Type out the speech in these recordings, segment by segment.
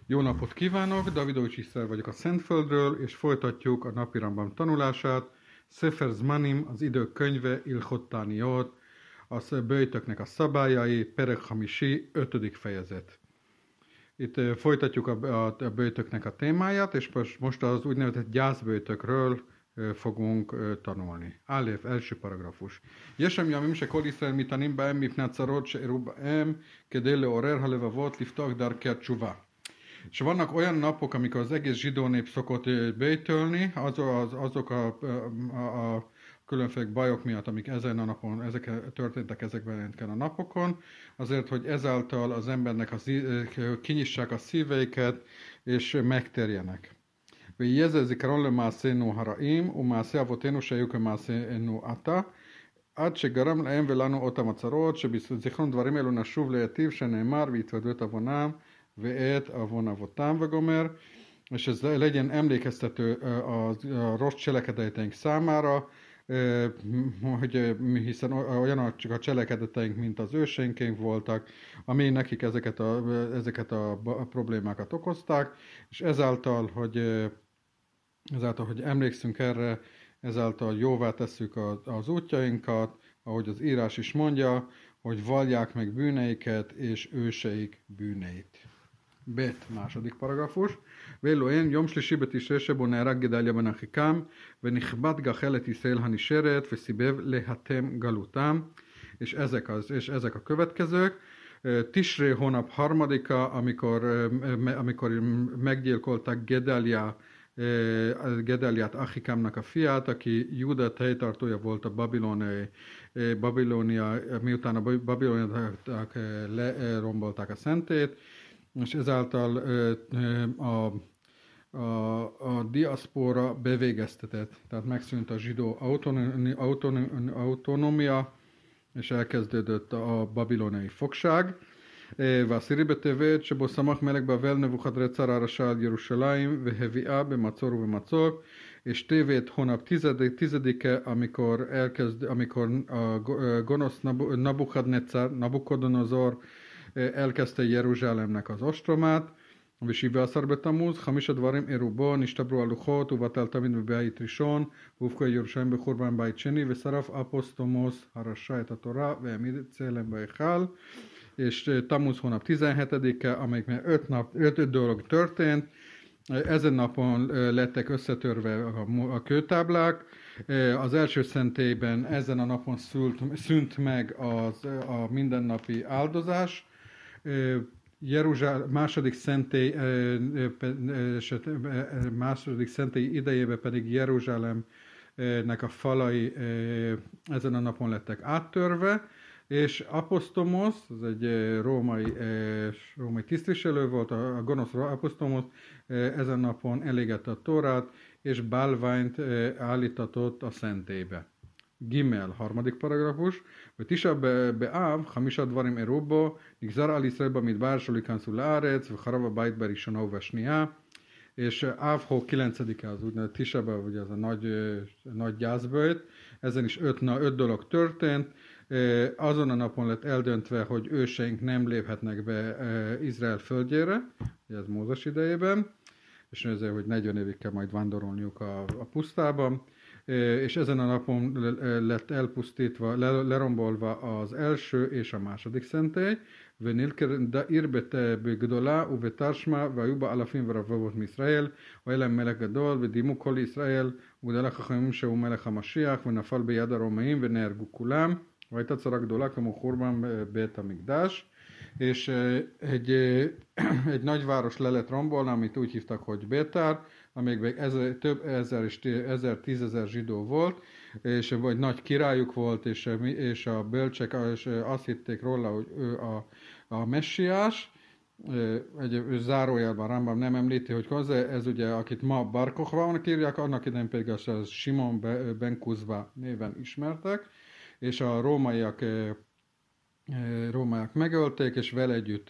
Jó napot kívánok, Davidovics Iszter vagyok a Szentföldről, és folytatjuk a napi Rambam tanulását. Sefer Zmanim, az idők könyve, Ilchot Tániot, a böjtöknek a szabályai, Perek Hamisi, 5. fejezet. Itt folytatjuk a böjtöknek a témáját, és most az úgynevezett gyászböjtökről fogunk tanulni. Aleph, első paragrafus. Yeshem yamim shekol Yisrael mitanim ba'em mipnat tzarot she'eru ba'em kedei le'orer halevavot liftach darkei hatshuva. És vannak olyan napok, amikor az egész zsidó nép szokott böjtölni, azok a különféle bajok miatt, amik ezen a napon, történtek ezekben a napokon, azért, hogy ezáltal az embernek kinyissák a szíveiket, és megterjenek. ויהיה זה זיכרון למעשינו הרעים ומעשי אבותינו שהיו כמעשינו עתה עד שגרם lהם ולנו אותם הצרות שבזיכרון דברים אלו נשוב להיטיב שנאמר והתוודו את עוונם ואת עוון אבותם וגומר, és ez legyen emlékeztető a rossz cselekedeteink számára, hiszen olyan csak a cselekedeteink, mint az őseinkénk voltak, ami nekik ezeket a problémákat okozták, és ezáltal, hogy emlékszünk erre, ezáltal jóvá tesszük az útjainkat, ahogy az írás is mondja, hogy vallják meg bűneiket és őseik bűneit. Bet, második paragrafus. ואלו הן יום שלישי בתשרי שבו נהרג גדליה בן אחיקם ונכבד גחל את ישראל הנשארת וסיבב להתם גלותם, és ezek a következők. Tisré hónap harmadika, amikor meggyilkolták Gedaliát, Achikámnak a fiát, aki Júda helytartója volt a Babilónia, miután a babiloniak lerombolták a szentét, és ezáltal a diaszpóra bevégeztetett, tehát megszűnt a zsidó autonómia, és elkezdődött a babiloniai fogság. והעשירי בטבת שבו סמך מלך בבל נבוכדנצר הרשע על ירושלים והביאה במצור ובמצור, és tévét hónap tizedike, amikor a gonosz Nabukodonozor elkezdte Jeruzsálemnek az ostromát, ושבעה בתמוז, 5 דברים אירעו בו, נשתברו הלוחות, ובטל תמיד בבית ראשון, והופקע ירושלים בחורבן בית שני, ושרף אפוסטומוס הרשע את התורה, והעמיד צלם בהיכל. És Tamuz hónap 17-e, amelyikben 5 dolog történt. Ezen napon lettek összetörve a kőtáblák. Az első szentélyben ezen a napon szűnt meg a mindennapi áldozás. Második szentély idejében pedig Jeruzsálemnek a falai ezen a napon lettek áttörve, és Aposztomos, ez egy római tisztviselő volt, a gonosz Aposztomos ezen napon elégette a Tórát, és bálványt állítatott a szentélybe. Gimel, harmadik paragrafus, hogy Tisha be'av, 5 דברים אירעו בו, נגזר על ישראל במדבר שלא ייכנסו לארץ, וחרב הבית בראשונה ובשנייה, és Ávhó 9-e az úgynevezett Tisha, ugye ez a nagy gyászböjt, ezen is 5 dolog történt. Azon a napon lett eldöntve, hogy őseink nem léphetnek be Izrael földjére, ez Mózes idejében, és ezért, hogy 40 évig kell majd vándorolniuk a pusztában, és ezen a napon lett elpusztítva, lerombolva az első és a második szentély, ונלקר דעיר בגדולה ובתרשמה והיו בה אלפים ורבבות מישראל והיה להם מלך גדול ודימו כל ישראל וגדל החכמים שהוא מלך המשיח ונפל ביד הרומאים ונהרגו כולם והייתה צרה גדולה כמו חורבן בית המקדש. És egy nagy város le lett rombolni, amit úgy hívtak, hogy Bétár, amelyikben több ezer és 10 000 zsidó volt, és vagy nagy királyuk volt, és a bölcsek azt hitték róla, hogy ő a messiás. Egy zárójelben Rambam nem említi, hogy ez ugye, akit ma Bar Kochvának írják, annak idején pedig az Simon ben Kuzva néven ismertek, és a rómaiak megölték, és vele együtt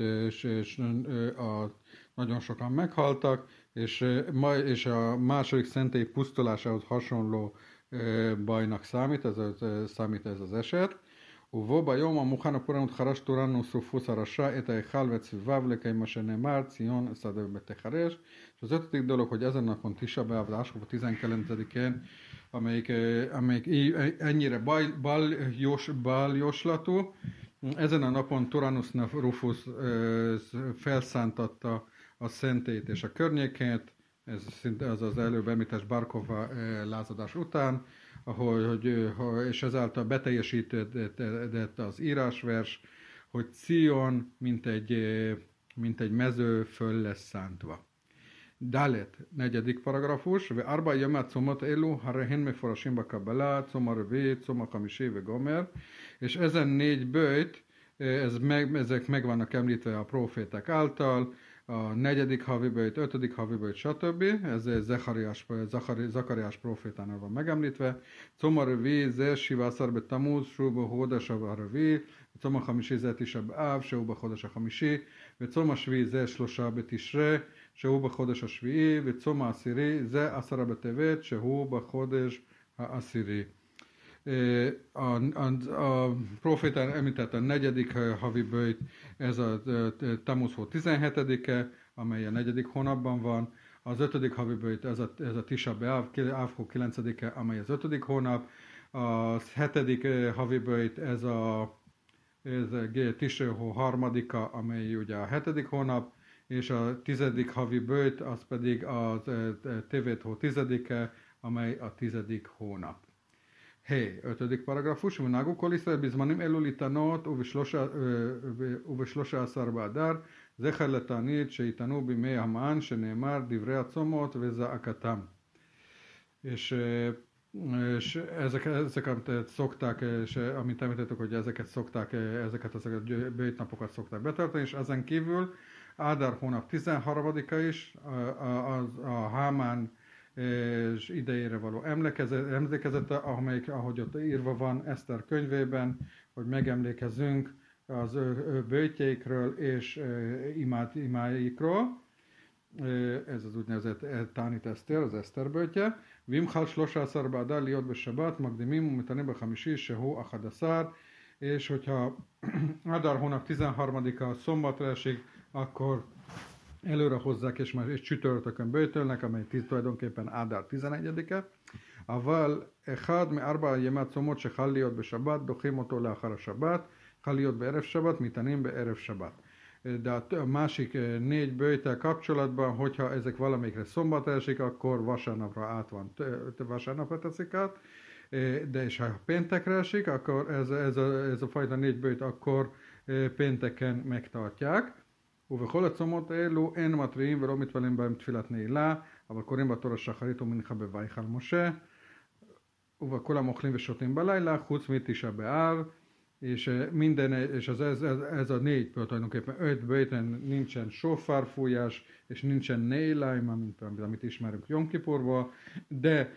nagyon sokan meghaltak, és a második szentély pusztulásához hasonló bajnak számít ez az eset. ובו ביום המוכן הפורענות חרשתו לנו שרופוס הרשע את ההיכל ואת סביביו לקיים מה שנאמר ציון szada betexares. És az ötödik dolog, hogy ezen napon Tisha B'Av, de Áskova 19-én, amelyik ennyire baljoslatú, ezen a napon Tyrannus Rufus felszántatta a szentét és a környékét, ez szinte az előbb említett Barkova lázadás után, és ezáltal beteljesített az írásvers, hogy Cion, mint egy mező föl lesz szántva. Dalet, negyedik paragrafus, ve arba yamat szomot elu, harehen meforashim bakabala, szoma rövé, szoma hamisé, ve gomer, és ezen 4 böjt, ezek meg vannak említve a proféták által, a 4. havi böjt, 5. havi böjt, stb. Ez Zakariás profétánál van megemlítve. Szoma rövé, ze sivászar be tamuz, sóba hódasa a rövé, szoma hamisé, ze Tisha B'Av, sóba hódasa hamisé, ve szoma svi, ze slosha be Tisre, שהוא בחודש השביעי, וצום העשירי, זה 10 בטבת, שהוא בחודש העשירי. A profétán említett a 4. havi böjt, ez a Tammuz hó 17-e, amely a 4. hónapban van. Az 5. havi böjt, ez a Tisha B'Av, Áv hó 9-e, amely az 5. hónap. A 7. havi böjt, ez a Tisha hó 3-a, amely ugye a 7. hónap. És a 10. havi böjt, az pedig a Tevet hó 10-e, amely a 10. hónap. 5. paragrafus, ונהגו כל ישראל בזמנים אלו להתענות וב13 באדר, זכר לתענית שיתענו בימי המן, שנאמר דברי הצומות וזעקתם. És ezeket szokták, és amint említettük, hogy ezeket a böjtnapokat szokták betartani, és ezen kívül Ádár hónap 13-a is, a Hámán idejére való emlékezete, ahogy ott írva van Eszter könyvében, hogy megemlékezzünk az ő böjtjeikről és imáikról. Ez az úgynevezett Tánit Eszter, az Eszter böjtje. Vimchal 13 באדר להיות בשבת, מקדימים ומתענים בחמישי שהוא 11, és hogyha Ádár hónap 13-a szombatra esik, akkor előre hozzák, és már csütörtökön böjtölnek, amely tulajdonképpen Ádár 11-e. אבל אחד מארבע ימי הצומות שחל להיות בשבת, דוחים אותו לאחר השבת, חל להיות בערב שבת, מתענים בערב שבת. De a másik 4 böjttel kapcsolatban, hogyha ezek valamelyikre szombatra esik, akkor vasárnapra teszik át, de és ha péntekre esik, akkor ez a fajta 4 böjt akkor pénteken megtartják. ובכל הצומות האלו אין מתריעים ולא מתפללים בהם תפילת נעילה, אבל קוראים בתורה שחרית ומנחה בוויכל משה, וכולם אוכלים ושותים בלילה, חוץ מתשעה באב, és ez a 4 böjt, tulajdonképpen 5 böjten nincsen sofárfújás, és nincsen néilájma, amit ismerünk Jom Kipurból, de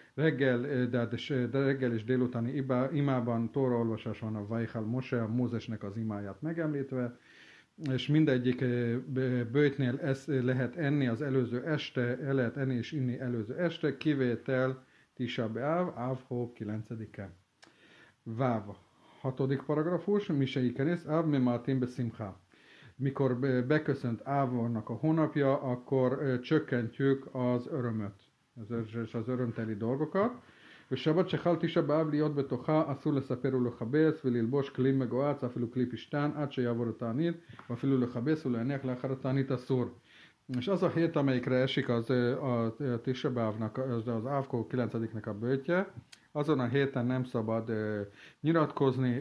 reggel és délutáni imában, tóraolvasás van a Vajhal Mose, a Mózesnek az imáját megemlítve, és mindegyik böjtnél lehet enni az előző este, el lehet enni és inni előző este, kivétel Tisha B'Av, Áv hó 9-e. Váv, 6. paragrafus, Misei Kenész, Áv Memátin Beszimcha. Mikor beköszönt Ávnak a hónapja, akkor csökkentjük az örömöt, az örömteli dolgokat. ושבת שחל תשעה באב להיות בתוכה אסור לספר ולכבס וללבוש כלי מגואץ אפילו כלי פשתן עד שיעבור התענית ואפילו לכבס ולהניח לאחר התענית אסור. És az a hét, amelyikre esik a Tisha B'Avnak, az Ávkó 9-nek a böjtje, azon a héten nem szabad nyilatkozni,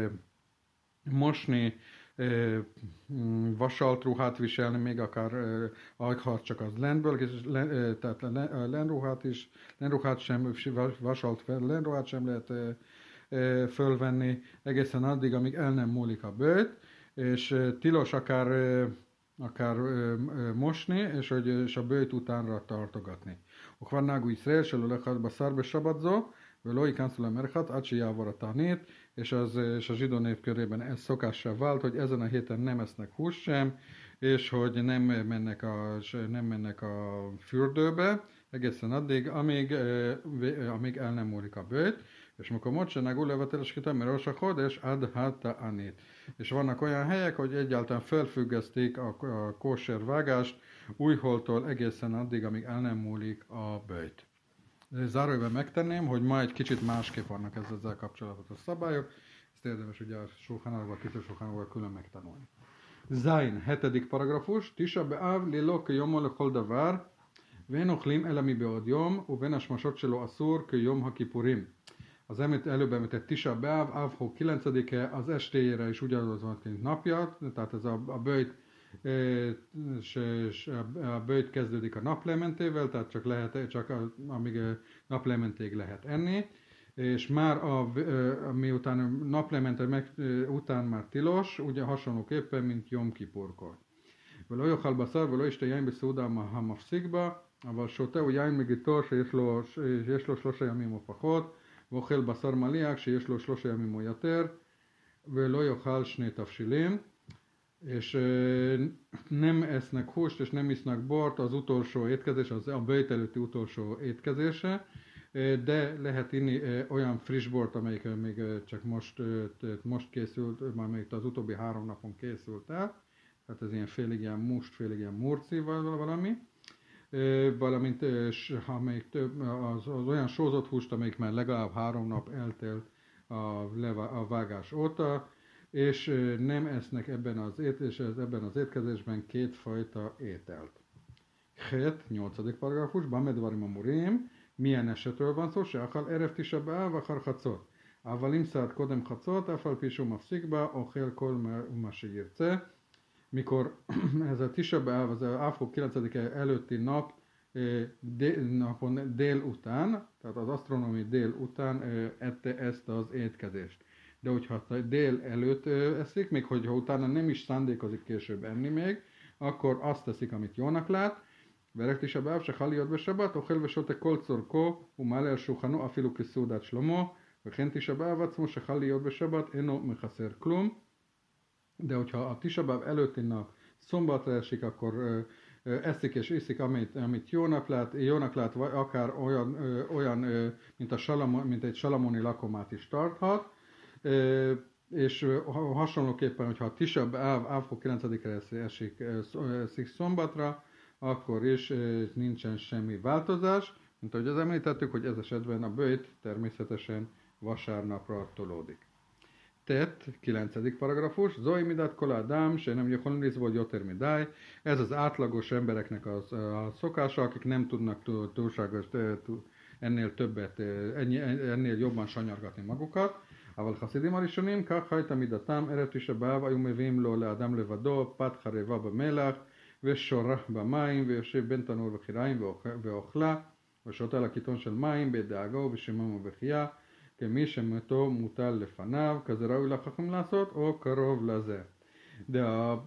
mosni, vasalt ruhát viselni, még akár ha csak az lenből, tehát lenruhát sem, vasalt lenruhát sem lehet fölvenni egészen addig, amíg el nem múlik a böjt, és tilos akár mosni, és a böjt utánra tartogatni. וכבר נהגו ישראל שלא לאכול בשר בשבת זו, ולא ייכנסו למרחץ עד שיעבור התענית, és a zsidó nép körében ez szokássá vált, hogy ezen a héten nem esznek húst sem, és hogy nem mennek a fürdőbe, egészen addig, amíg el nem múlik a böjt. És מקומות שנהגו לבטל השחיטה מראש החודש עד התענית. És vannak olyan helyek, hogy egyáltalán felfüggesztik a kóser vágást újholtól egészen addig, amíg el nem múlik a böjt. Zárójelben megtenném, hogy ma egy kicsit másképp vannak ezzel kapcsolatos szabályok, ezt érdemes ugye a Sulchan Aruch külön megtanulni. Zain, 7. paragrafus, Tisha B'Av lilo kiyom lechol davar, ואין אוכלים אלא מבעוד יום, ובין השמשות שלו אסור כיום הכיפורים. Az előbb említett Tisha B'Av, Avhó 9-e, az estéjére is ugyanaz van, mint napja, tehát ez a böjt kezdődik a naplementével, tehát csak amíg naplementéig lehet enni, és már miután naplemente után már tilos, ugye hasonlóképpen, mint Jom Kipurkor. ולא יאכל בשר ולא ישתה יין בסעודה המפסיק בה, אבל שותה הוא יין מגיטו שיש לו 3 ימים או פחות, ואוכל בשר מליח שיש לו 3 ימים או יותר, ולא יאכל 2 תבשילים, és nem esznek húst, és nem isznak bort az utolsó étkezés, az a böjt előtti utolsó étkezése, de lehet inni olyan friss bort, amelyik még csak most készült, már még az utóbbi 3 napon készült el, tehát ez ilyen félig ilyen must, félig ilyen murci valami, valamint amelyik az olyan sózott húst, amelyik már legalább 3 nap eltelt a vágás óta, és nem esznek ebben az étkezésben 2 fajta ételt. 8. paragrafus, Bamedvarim amurim, milyen esetről van szó, se akal erev Tisha B'Av achar chatzot. אבל אם סעד קודם חצות, אף על פי שהוא מפסיק בה, אוכל כל מה שירצה. Mikor ez a Tisha B'Av, az Avhó 9-e előtti napon délután, tehát az asztronómiai délután ette ezt az étkezést. De hogyha dél előtt eszik, még hogyha utána nem is szándékozik később enni még, akkor azt teszik, amit jónak lát. Verek Tisha B'Av, se chaliot besabbat, ochel vesote kol czorko, umale el shulchano afilu kiszudat shlomo, וכן Tisha B'Av עצמו שחל להיות בשבת אינו מחסר כלום. De hogyha a Tisha B'Av előtti nap szombatra esik, akkor eszik és iszik, amit jónak lát, vagy akár olyan mint egy salamoni lakomát is tarthat, és hasonlóképpen, hogyha a Tisha B'Av Avhó 9-re esik szombatra, akkor is nincsen semmi változás, mint ahogy az említettük, hogy ez esetben a böjt természetesen vasárnapra tolódik. Tett, 9. paragrafus, Zoi midat kol adam, se nem יכולים לסבול יותר מדי. Ez az átlagos embereknek a szokása, akik nem tudnak túlságos ennél többet, ennél jobban sanyargatni magukat. אבל חסידים הראשונים, כך הייתה מידתם, ערב תשעה באב היו מביאים לו לאדם לבדו, פת חרבה במלח, ושורה במים, ויושב בין תנור וחיריים ואוכלה, ושותה על הקיטון של מים, בדאגה ובשמם ובחייה. כמי שמתו מוטל לפניו, כזה ראוי לחכם לעשות, או קרוב לזה. De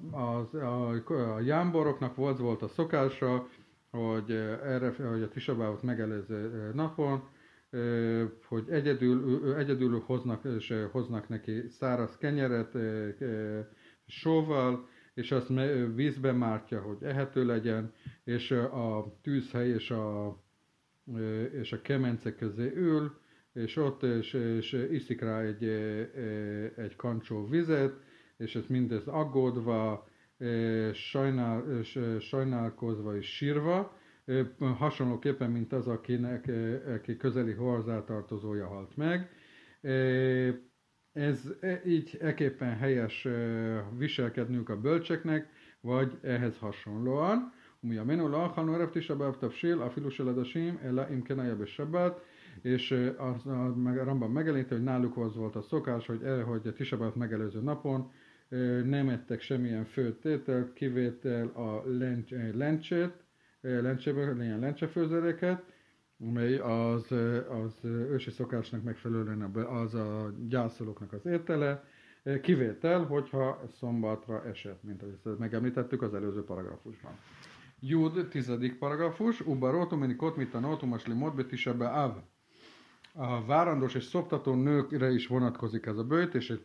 a jámboroknak volt a szokása, hogy a Tisha B'Avot megelőző napon, hogy egyedül hoznak neki száraz kenyeret sóval, és azt vízbe mártja, hogy ehető legyen, és a tűzhely és a kemence közé ül, és ott és iszik rá egy kancsó vizet, és ez mindez aggódva, sajnálkozva és sírva, hasonlóképpen, mint az, aki közeli hozzátartozója halt meg. Ez így eképpen helyes viselkednünk a bölcseknek, vagy ehhez hasonlóan. ומימינו לא אכלנו ערב תשעה באב תבשיל, אפילו של עדשים, אלא אם כן היה בשבת. És a Rambam megelőzte, hogy náluk az volt a szokás, hogy a Tisha B'Av megelőző napon nem ettek semmilyen főtt ételt, kivétel a ilyen lencsefőzeléket, amely az ősi szokásnak megfelelően az a gyászolóknak az étele, kivétel, hogyha szombatra esett, mint ahogy ezt megemlítettük az előző paragrafusban. Jud, 10. paragrafus, Ubarot, umenikot, mitanot, umaslimot, be Tisha B'Av. A várandós és szoptató nőkre is vonatkozik ez a böjt, és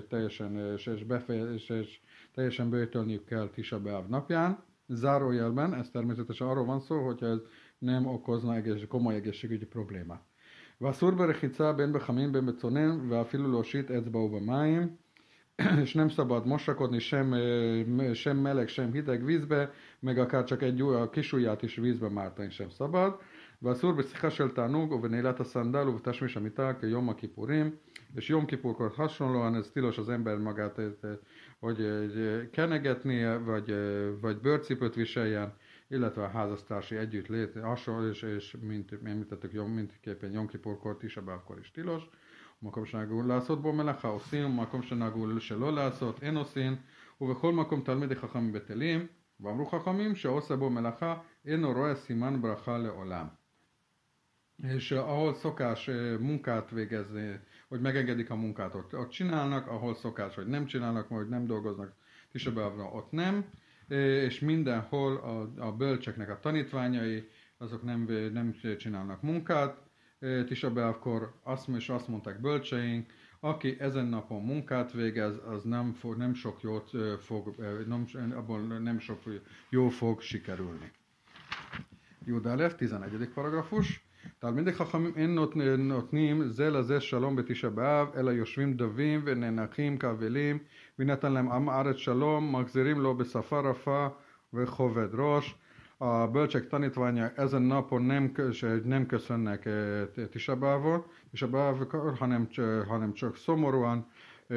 teljesen böjtölniük kell Tisha B'Av napján. Zárójelben, ez természetesen arról van szó, hogyha ez nem okozna komoly egészségügyi problémát. ואסור ברחיצה בין בחמין בין בצונן, ואפילו להושיט אצבעו במים, és nem szabad mosakodni sem meleg, sem hideg vízbe, meg akár csak a kis ujját is vízbe mártani sem szabad. ואסור בשיחה של תענוג ובנעילת הסנדל ובתשמיש המיטה כיום הכיפורים, és Jom Kipurkor hasonlóan ez tilos az ember magát, hogy kenegetnie, vagy bőrcipőt viseljen, illetve a házastársi együttlét hasonló, és mint említettük, mindképpen Jom Kipurkor, Tisha B'Avkor is tilos. מקום שנהגו לעשות בו מלאכה עושים, מקום שנהגו שלא לעשות אין עושים, ובכל מקום תלמידי חכמים בטלים, ואמרו חכמים שעושה בו מלאכה אינו רואה סימן ברכה לעולם. És ahol szokás munkát végezni, hogy megengedik a munkát, ott csinálnak, ahol szokás, hogy nem csinálnak, vagy nem dolgoznak Tisha B'Avra, ott nem, és mindenhol a bölcseknek a tanítványai, azok nem csinálnak munkát. Tisha B'Avkor azt mondták bölcseink, aki ezen napon munkát végez, az nem sok jót fog, abból nem sok jó fog sikerülni. Jud Alef, 11. paragrafus. תלמידי חכמים אין נותנים זה לזה שלום בתשעה באב, אלא יושבים דבים ונאנחים כאבלים, ונתן להם עם הארץ שלום, מחזירים לו בשפה רפה וכובד ראש. A bölcsek tanítványa ezen napon nem köszönnek Tisha B'Avkor, hanem csak szomorúan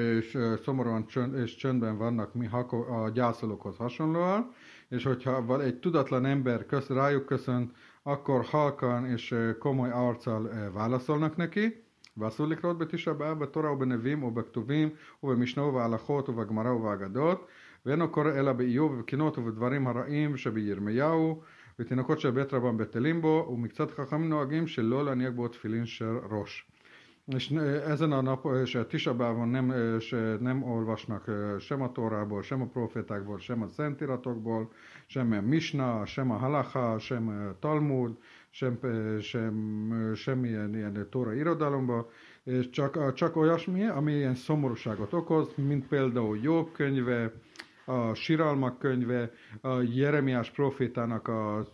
és csöndben vannak a gyászolókhoz hasonlóan, és hogyha egy tudatlan ember rájuk köszönt, akkor halkan és komoly arccal válaszolnak neki. ואסור לקרוא בתשעה באב בתורה ובנביאים ובכתובים ובמשנה ובהלכות ובגמרא ובאגדות, ואינו קורא אלא באיוב ובקינות ובדברים הרעים שבירמיהו, ותינוקות של בית רבם בטלים בו, ומקצת חכמים נוהגים שלא להניח בו תפילין של ראש. És ezen a nap, és a Tisha B'Avon nem olvasnak sem a Tórából, sem a profétákból, sem a Szentíratokból, sem a Misna, sem a Halacha, sem a Talmud, semmilyen ilyen Tóra irodalomba, és csak olyasmi, ami ilyen szomorúságot okoz, mint például Jobb könyve, a Siralmak könyve, a Jeremiás profétának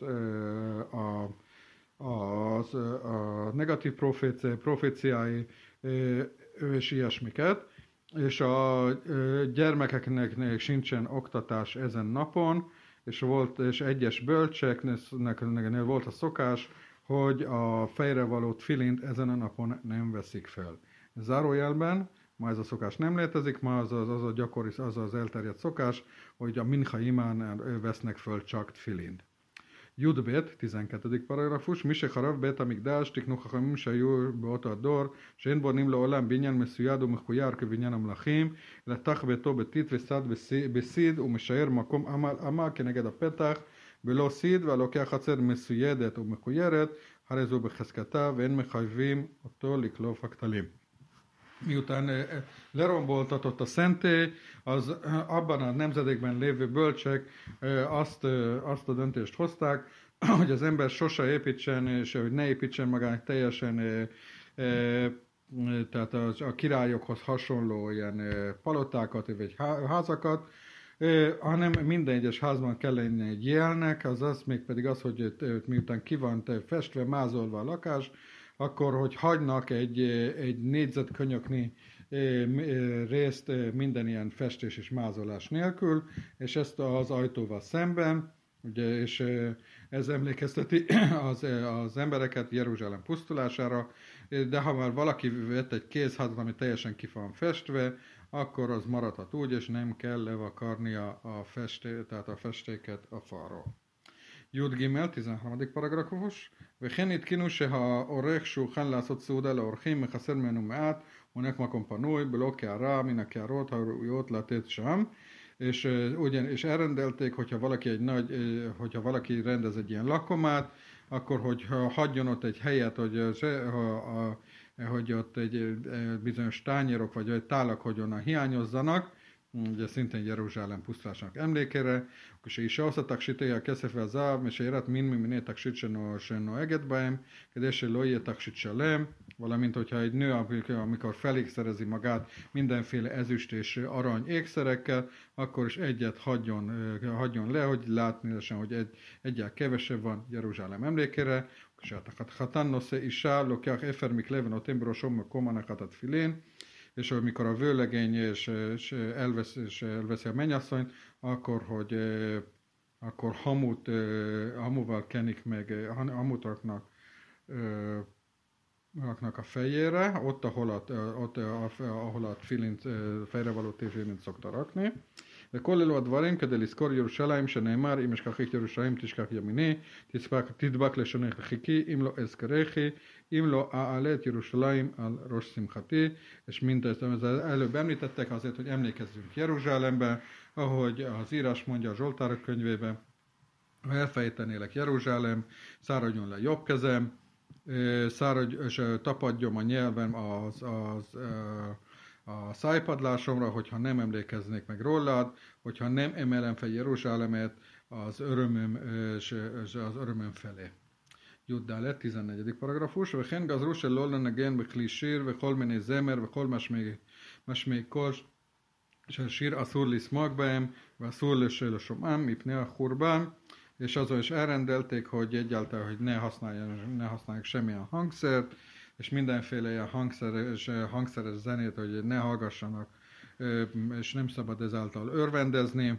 a negatív proféciái és ilyesmiket, és a gyermekeknek sincsen oktatás ezen napon, és egyes bölcseknek volt a szokás, hogy a fejre való tfilint ezen a napon nem veszik fel. Zárójelben, ma ez a szokás nem létezik, ma az az elterjedt szokás, hogy a mincha imán vesznek föl csak tfilint. Judbet, 12. paragrafus, מי שחרב בית המקדש תקנו חכמים שהיו באותו הדור, שאין בונים לעולם בניין מסויד ומחויר כבניין המלכים, אלא תח ביתו ביתית וסד בסיד ומשאר מקום עמה כנגד הפתח, בלא סיד, והלוקח חצר מסוידת ומחוירת, הרי זו בחזקתה, ואין מחייבים אותו לקלוף הכתלים. Miután leromboltatott a szentély, az abban a nemzedékben lévő bölcsek azt a döntést hozták, hogy az ember sose építsen, és hogy ne építsen magának teljesen tehát a királyokhoz hasonló ilyen palotákat, vagy házakat, hanem minden egyes házban kell lenni egy jelnek, azaz mégpedig az, hogy miután ki van festve, mázolva a lakás, akkor, hogy hagynak egy négyzetkönyöknyi részt minden ilyen festés és mázolás nélkül, és ezt az ajtóval szemben, ugye, és ez emlékezteti az embereket Jeruzsálem pusztulására, de ha már valaki vett egy kézházat, ami teljesen ki van festve, akkor az maradhat úgy, és nem kell levakarnia tehát a festéket a falról. י' ג' 13 פרגרפוש, וכן התקינו שהעורך שהוכן לעשות סעודה לאורחים מחסר ממנו מעט, הונק מקום פנוי, בלא קערה מן הקערות הראויות לתת שם, és elrendelték, hogyha valaki rendez egy ilyen lakomát, akkor hogy hagyjon ott egy helyet, hogy ott egy bizonyos tányérok vagy tálak hogyan hiányozzanak, ugye szintén Jeruzsálem pusztulásának emlékére, כשאישה עושה תכשיטי הכסף והזהב, משיירת מין ממיני תכשיט שנוהגת בהם, כדי שלא יהיה תכשיט שלם, valamint hogyha egy nő, amikor felékszerezi magát mindenféle ezüst és arany ékszerekkel, akkor is egyet hagyjon le, hogy látni lesen, hogy egyel kevesebb van Jeruzsálem emlékére. כשהחתן נושא אישה, לוקח אפר מכלי ונותן בראשו מקום הנחת התפילין, és amikor a vőlegény és elveszi a mennyasszonyt, akkor hamuval kenik meg, hamut raknak a fejére, ott, ahol a tfilint, fejrevaló tfilint szokta rakni. וכל אלו הדברים כדי לזכור ירושלים שנאמר אם אשכחך ירושלים תשכח ימיני תדבק לשונך חיכי אם לא אזכרכי אם לא אעלה את ירושלים על ראש שמחתי. És mindezt előbb említettek azért, hogy emlékezzünk Jeruzsálembe, ahogy az írás mondja a Zsoltárok könyvében, ha elfejtenélek Jeruzsálem, száradjon le jobb kezem, és tapadjam a nyelvem a szájpadlásomra, hogyha nem emlékeznék meg rólad, hogyha nem emelem fel Jeruzsálemet az örömöm felé. Juddá 14. paragrafus. וכן גזרו שלא לנגן בכלי שיר וכל מיני זמר וכל משמעי קול של שיר אסור לשמוח בהם ואסור לשומעם מפני החורבן. És azon is elrendelték, hogy egyáltalán hogy ne használják semmilyen hangszert, és mindenféle ilyen hangszeres zenét, hogy ne hallgassanak, és nem szabad ezáltal örvendezni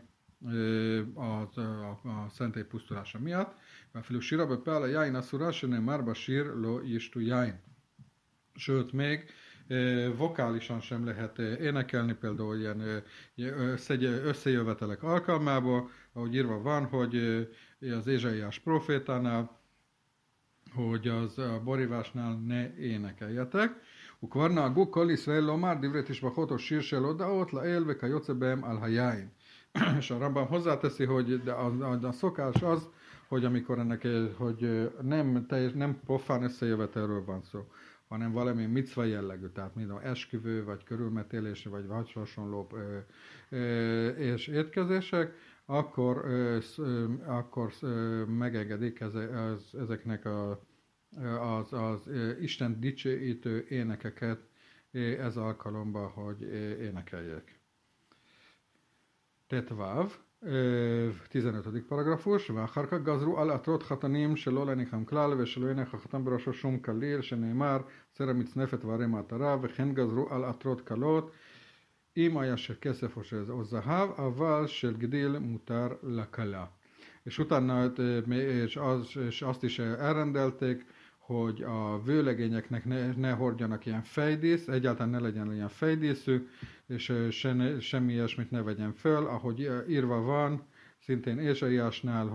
a szentély pusztulása miatt. Mert sírba בפעל היין אסורה שנאמר בשיר לא ישתו יין. Sőt, még vokálisan sem lehet énekelni, például ilyen összejövetelek alkalmából, ahogy írva van, hogy az Ézsaiás profétánál, hogy az a borívásnál ne énekeljetek. וכבר נהגו כל ישראל לומר דברי תשבחות או שיר של הודעות לאל וכיוצא בהם על היין. És a Rambam hozzáteszi, hogy a szokás az, hogy amikor hogy nem profán összejövetelről van szó, hanem valami micva jellegű, tehát mint esküvő, vagy körülmetélés, vagy hasonló és étkezések, akkor megengedik ezeknek az Isten dicsőítő énekeket ez alkalomban, hogy énekeljék. Tetvav, 15. paragrafus, ואחר כך גזרו על עטרות חתנים שלא להניחם כלל ושלא יניח החתן בראשו שום כליל שנאמר סר המצנפת וערי מעטרה וכן גזרו על עטרות כלות אם היה של כסף או זהב אבל של גדיל מותר לכלה. És utána és azt is elrendelték, hogy a vőlegényeknek ne hordjanak ilyen fejdísz, egyáltalán ne legyen ilyen fejdíszük, és semmi ilyesmit ne vegyen föl, ahogy írva van, szintén Ézsaiásnál,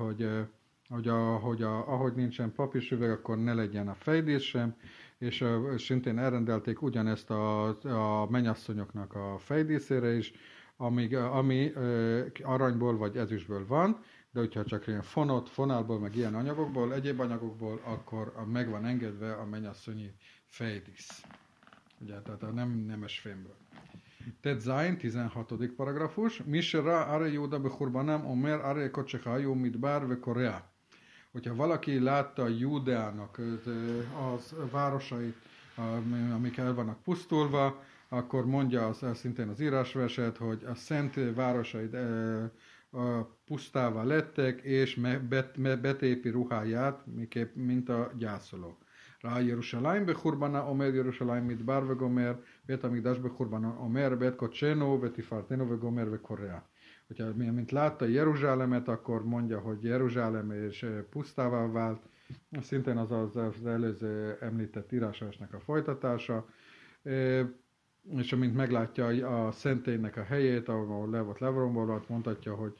ahogy nincsen papírsüveg, akkor ne legyen a fejdísz sem, és szintén elrendelték ugyanezt a mennyasszonyoknak a fejdíszére is, ami aranyból vagy ezüstből van, de hogyha csak ilyen fonálból, meg ilyen anyagokból, egyéb anyagokból, akkor meg van engedve a mennyasszonyi fejdísz. Ugye, tehát a nemes fémből. Tet Zayin, 16. paragrafus. Misra are Júda bechurbanám, omer are kocsehájú midbár ve Korea. Hogyha valaki látta Júdeának az városait, amik el vannak pusztulva, akkor mondja szintén az írásverset, hogy a szent városait pusztává lettek, és betépi ruháját, mint a gyászoló. Rá Jeruzsálem bechurbaná, omer Jeruzsálem midbár ve gomer, bet amigdás bechurbaná, omer bet kocsenó, betifartenó ve gomer ve Korea. Hogyha mint látta Jeruzsálemet, akkor mondja, hogy Jeruzsálem és pusztává vált. Szintén az előző említett írásásnak a folytatása. És amint meglátja a szentélynek a helyét, ahol le volt levrombolva, mondhatja, hogy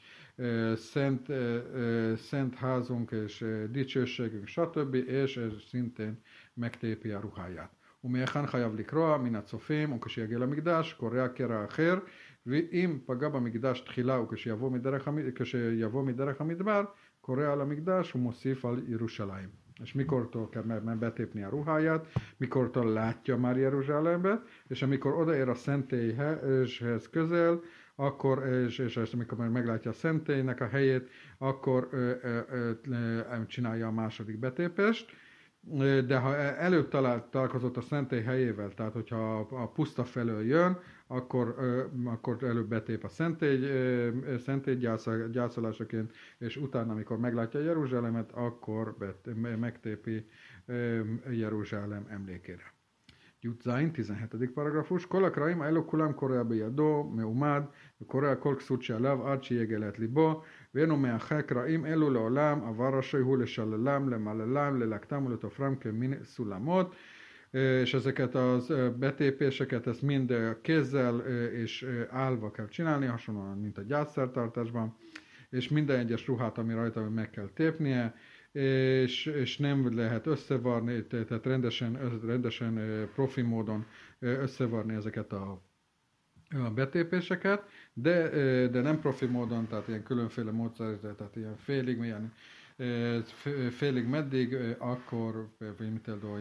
szent házunk és dicsőségünk, stb. És ez szintén megtépi a ruháját. ומהיכן חייב לקרוע מן הצופים וכשיגיע למקדש קורע קרע אחר ואם פגע במקדש תחילה וכשיבוא מדרך המדבר קורע על המקדש ומוסיף על ירושלים. És mikortól kell betépni a ruháját, mikortól látja már Jeruzsálembe, és amikor odaér a szentélyhez közel, akkor, és amikor meglátja a szentélynek a helyét, akkor csinálja a második betépést. De ha előbb találkozott a szentély helyével, tehát hogyha a puszta felől jön, akkor előbb betép a szentély gyászolásaként, és utána, amikor meglátja Jeruzsálemet, akkor megtépi Jeruzsálem emlékére. Jutzain, 17. paragrafus. Kol הקרעים האלו כולם קורע בידו, מעומד, וקורע כל כסות שעליו עד שיגלת ליבו, ואינו מאחה קרעים אלו לעולם, אבל רשאי הוא לשללם, למללם, ללקטם ולתופרם כמין סולמות, és ezeket az betépéseket, ezt mind kézzel és állva kell csinálni, hasonlóan, mint a gyászszertartásban, és minden egyes ruhát, ami rajta meg kell tépnie, és nem lehet összevarni, tehát rendesen profi módon összevarni ezeket a betépéseket, de nem profi módon, tehát ilyen különféle módszer, tehát ilyen félig meddig, akkor, vagy mit eldó,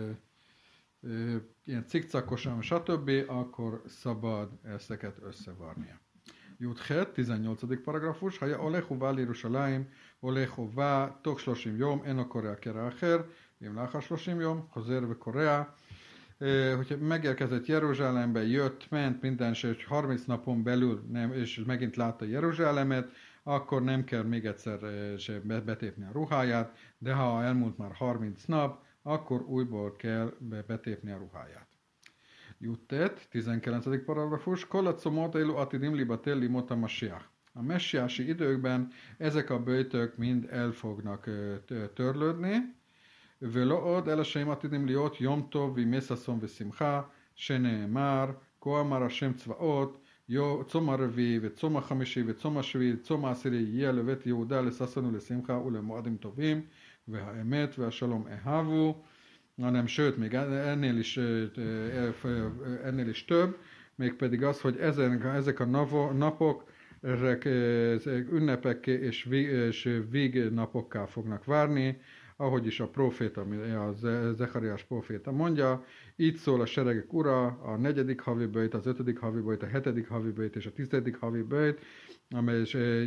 ilyen cikcakosan, stb., akkor szabad ezeket összevarnia. Juthet, 18. paragrafus, ha הולך ובא לירושלים, הולך ובא תוך 30 יום, אינו קורע קרע אחר, ואם לאחר 30 יום, חוזר וקורע. Hogyha megérkezett Jeruzsálembe, jött, ment, minden, és 30 napon belül, és megint látta Jeruzsálemet, akkor nem kell még egyszer betépni a ruháját, de ha elmúlt már 30 nap, akkor újból kell betépni a ruháját. Juttet, 19. paragrafus, Kolacomot élu atidim libatel limot a Masiach. A messiási időkben ezek a böjtök mind el fognak törlődni. ולא אלה שהם עתידים להיות יום טוב וימי ששון ושמחה, שנאמר, כה אמר השם צבאות, צום הרביעי וצום החמישי וצום השביעי, צום העשירי יהיה לבית יהודה לששון ולשמחה ולמועדים טובים, והאמת והשלום אהבו, hanem sőt, még ennél is több, mégpedig az, hogy ezek a napok, ezek ünnepekké és vég napokká fognak várni, ahogy is a proféta, a Zechariás proféta mondja, így szól a seregek ura, a 4. havi böjt, az 5. havi böjt, a 7. havi böjt és a 10. havi böjt, amely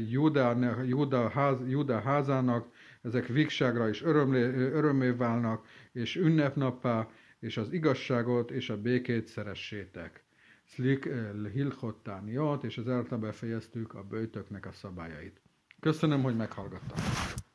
Júda házának, ezek vígságra is örömmé válnak, és ünnepnappá, és az igazságot és a békét szeressétek. Szlik hilchottániot, és ezáltal befejeztük a böjtöknek a szabályait. Köszönöm, hogy meghallgattak.